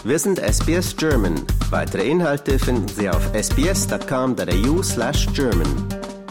Wir sind SBS German. Weitere Inhalte finden Sie auf sbs.com.au/German.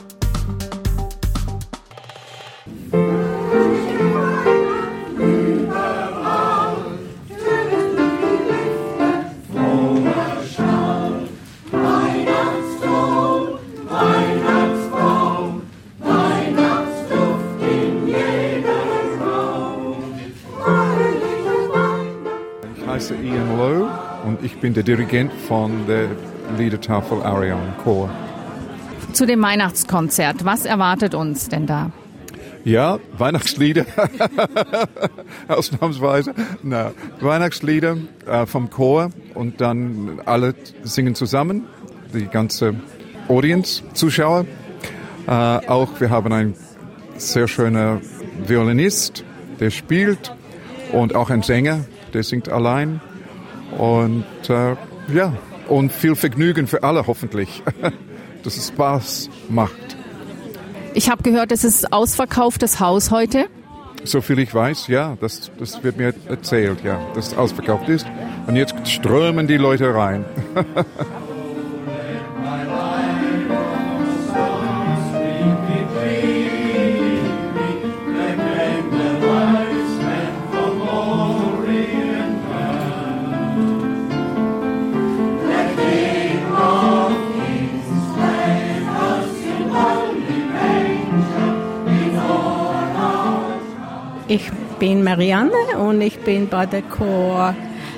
Ich heiße Ian Lowe und ich bin der Dirigent von der Liedertafel Arion Chor. Zu dem Weihnachtskonzert, was erwartet uns denn da? Ja, Weihnachtslieder, ausnahmsweise. Na, Weihnachtslieder vom Chor und dann alle singen zusammen, die ganze Audience, Zuschauer. Auch wir haben einen sehr schönen Violinist, der spielt, und auch ein Sänger, der singt allein. Und ja, und viel Vergnügen für alle hoffentlich, dass es Spaß macht. Ich habe gehört, es ist ausverkauftes Haus heute. Soviel ich weiß, ja, das wird mir erzählt, ja, dass es ausverkauft ist. Und jetzt strömen die Leute rein. Ich bin Marianne und ich bin bei der Chor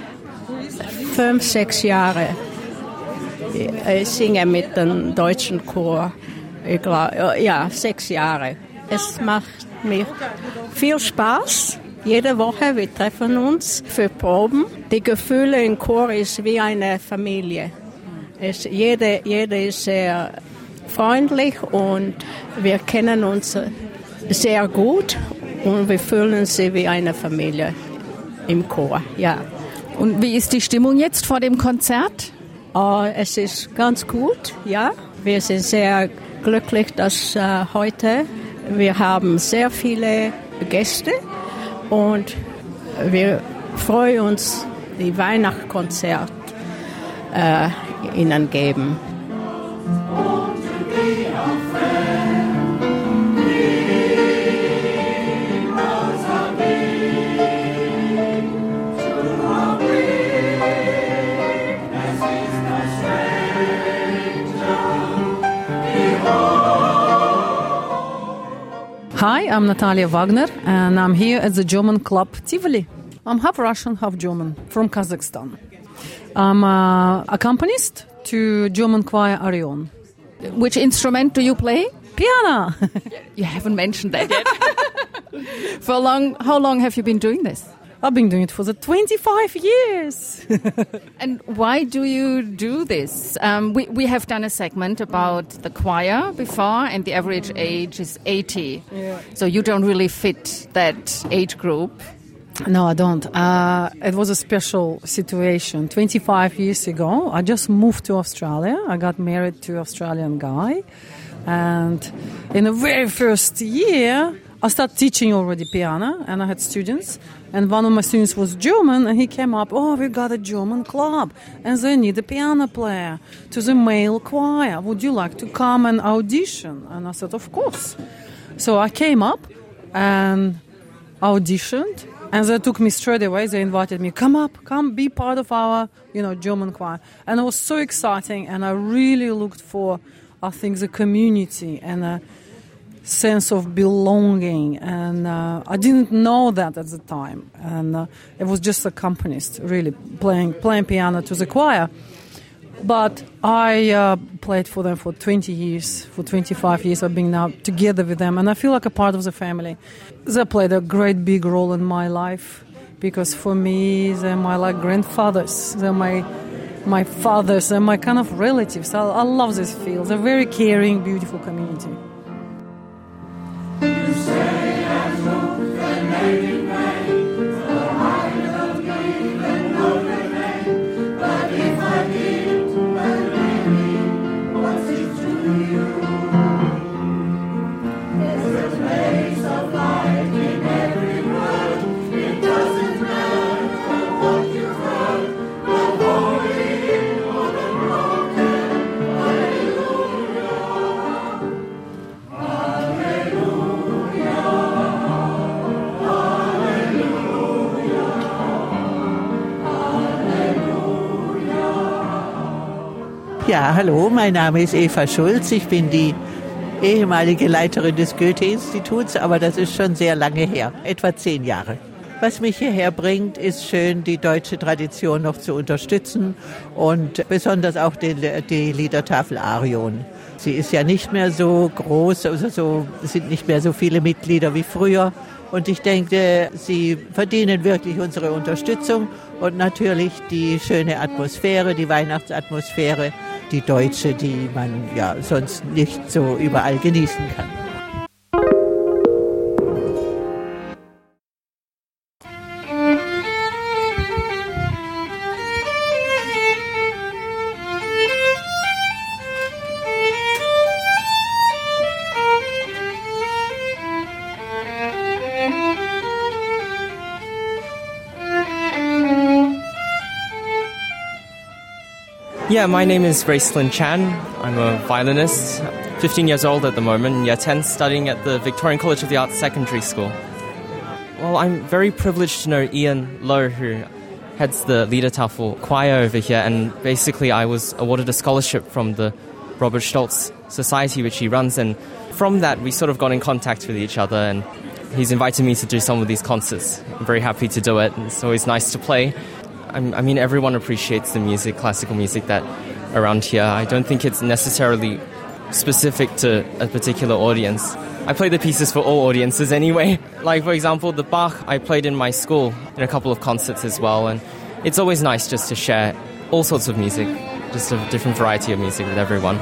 5-6 Jahre. Ich singe mit dem deutschen Chor, ich glaube, ja, 6 Jahre. Es macht mir viel Spaß. Jede Woche, wir treffen uns für Proben. Die Gefühle im Chor ist wie eine Familie. Jeder ist sehr freundlich und wir kennen uns sehr gut. Und wir fühlen uns wie eine Familie im Chor, ja. Und wie ist die Stimmung jetzt vor dem Konzert? Es ist ganz gut, ja. Wir sind sehr glücklich, dass heute wir haben sehr viele Gäste und wir freuen uns, die Weihnachtskonzert ihnen geben. Hi, I'm Natalia Wagner, and I'm here at the German club Tivoli. I'm half Russian, half German, from Kazakhstan. I'm an accompanist to German choir Arion. Which instrument do you play? Piano! You haven't mentioned that yet. How long have you been doing this? I've been doing it for the 25 years. And why do you do this? We have done a segment about the choir before, and the average age is 80. Yeah. So you don't really fit that age group. No, I don't. It was a special situation. 25 years ago, I just moved to Australia. I got married to an Australian guy. And in the very first year, I started teaching already piano, and I had students. And one of my students was German, and he came up, we got a German club, and they need a piano player to the male choir. Would you like to come and audition? And I said, of course. So I came up and auditioned, and they took me straight away. They invited me, come be part of our, German choir. And it was so exciting, and I really looked for, I think, the community and a sense of belonging, and I didn't know that at the time, and it was just accompanist, really playing piano to the choir. But I played for them for 20 years, for 25 years. I've been now together with them, and I feel like a part of the family. They played a great big role in my life, because for me, they're my grandfathers. They're my fathers. They're my kind of relatives. I love this field. They're a very caring, beautiful community. Ja, hallo, mein Name ist Eva Schulz. Ich bin die ehemalige Leiterin des Goethe-Instituts, aber das ist schon sehr lange her, etwa 10 Jahre. Was mich hierher bringt, ist schön, die deutsche Tradition noch zu unterstützen und besonders auch die Liedertafel Arion. Sie ist ja nicht mehr so groß, also es sind nicht mehr so viele Mitglieder wie früher. Und ich denke, sie verdienen wirklich unsere Unterstützung und natürlich die schöne Atmosphäre, die Weihnachtsatmosphäre, die deutsche, die man ja sonst nicht so überall genießen kann. Yeah, my name is Gracelyn Chan. I'm a violinist, 15 years old at the moment, year 10, studying at the Victorian College of the Arts Secondary School. Well, I'm very privileged to know Ian Lowe, who heads the Liedertafel choir over here, and basically I was awarded a scholarship from the Robert Stolz Society, which he runs, and from that we sort of got in contact with each other, and he's invited me to do some of these concerts. I'm very happy to do it, and it's always nice to play. I mean, everyone appreciates the music, classical music that around here. I don't think it's necessarily specific to a particular audience. I play the pieces for all audiences anyway. Like, for example, the Bach I played in my school in a couple of concerts as well. And it's always nice just to share all sorts of music, just a different variety of music with everyone.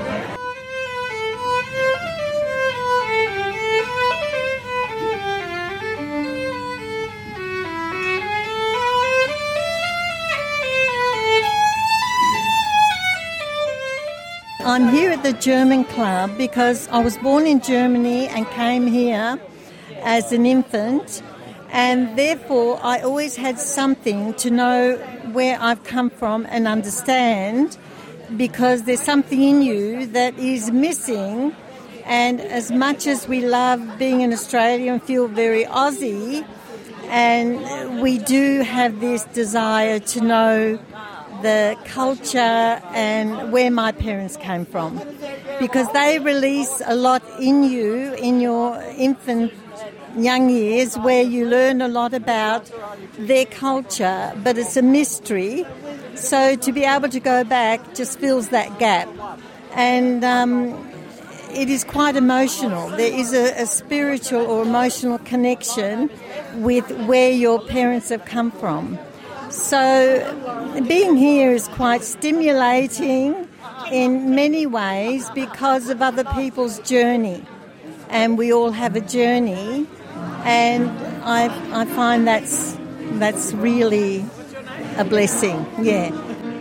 I'm here at the German Club because I was born in Germany and came here as an infant, and therefore I always had something to know where I've come from and understand, because there's something in you that is missing. And as much as we love being in Australia and feel very Aussie, and we do have this desire to know the culture and where my parents came from, because they release a lot in you in your infant young years, where you learn a lot about their culture, but it's a mystery. So to be able to go back just fills that gap, and it is quite emotional. There is a spiritual or emotional connection with where your parents have come from. So being here is quite stimulating in many ways because of other people's journey, and we all have a journey, and I find that's really a blessing. Yeah.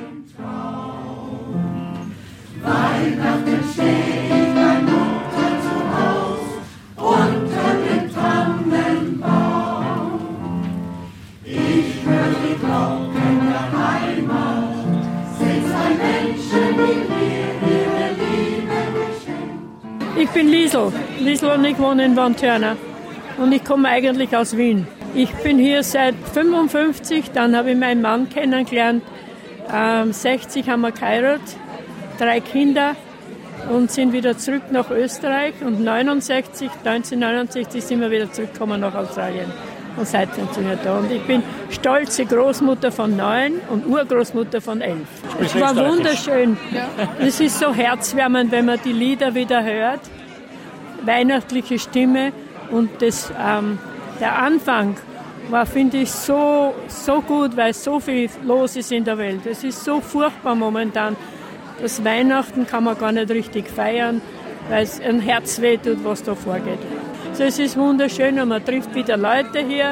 Ich bin Liesl und ich wohne in Wanthörner und ich komme eigentlich aus Wien. Ich bin hier seit 55, dann habe ich meinen Mann kennengelernt, 60 haben wir geheiratet, 3 Kinder und sind wieder zurück nach Österreich, und 1969 sind wir wieder zurückgekommen nach Australien. Und seitdem sind wir da. Und ich bin stolze Großmutter von 9 und Urgroßmutter von 11. Es war wunderschön. Es ist so herzwärmend, wenn man die Lieder wieder hört. Weihnachtliche Stimme. Und der Anfang war, finde ich, so gut, weil so viel los ist in der Welt. Es ist so furchtbar momentan. Das Weihnachten kann man gar nicht richtig feiern, weil es ein Herz wehtut, was da vorgeht. So, es ist wunderschön und man trifft wieder Leute hier.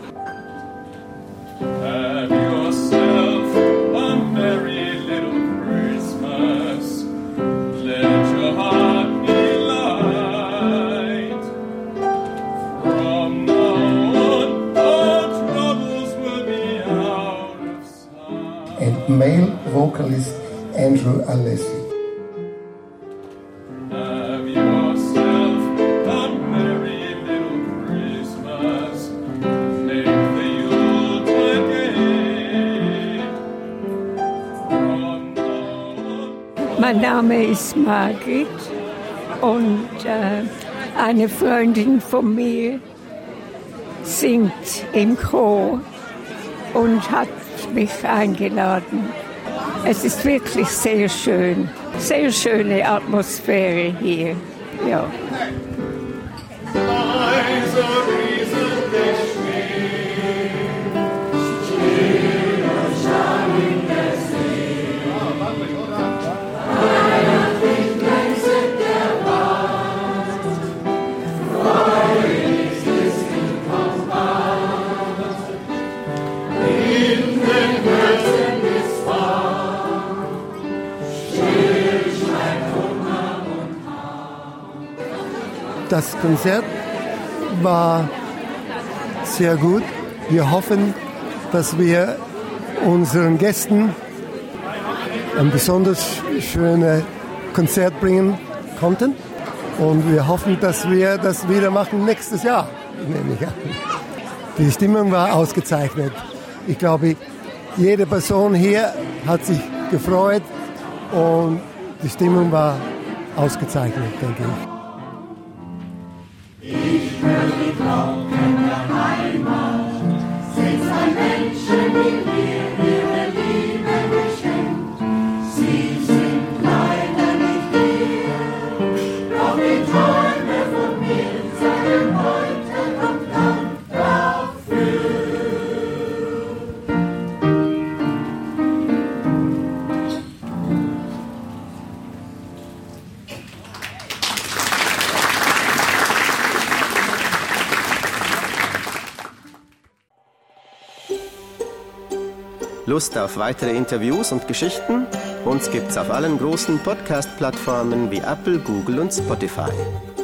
Have yourself a merry little Christmas. Let your heart be light. From now on, all troubles will be out of sight. And male vocalist Andrew Alessi. Mein Name ist Margit und eine Freundin von mir singt im Chor und hat mich eingeladen. Es ist wirklich sehr schön, sehr schöne Atmosphäre hier. Ja. Das Konzert war sehr gut. Wir hoffen, dass wir unseren Gästen ein besonders schönes Konzert bringen konnten. Und wir hoffen, dass wir das wieder machen nächstes Jahr. Die Stimmung war ausgezeichnet. Ich glaube, jede Person hier hat sich gefreut und die Stimmung war ausgezeichnet, denke ich. Ich höre die Glocken der Heimat, sind's ein Menschen, die mir ihre Liebe geschenkt. Sie sind leider nicht hier, doch die Träume von mir sagen heute kommt Dank dafür. Lust auf weitere Interviews und Geschichten? Uns gibt's auf allen großen Podcast-Plattformen wie Apple, Google und Spotify.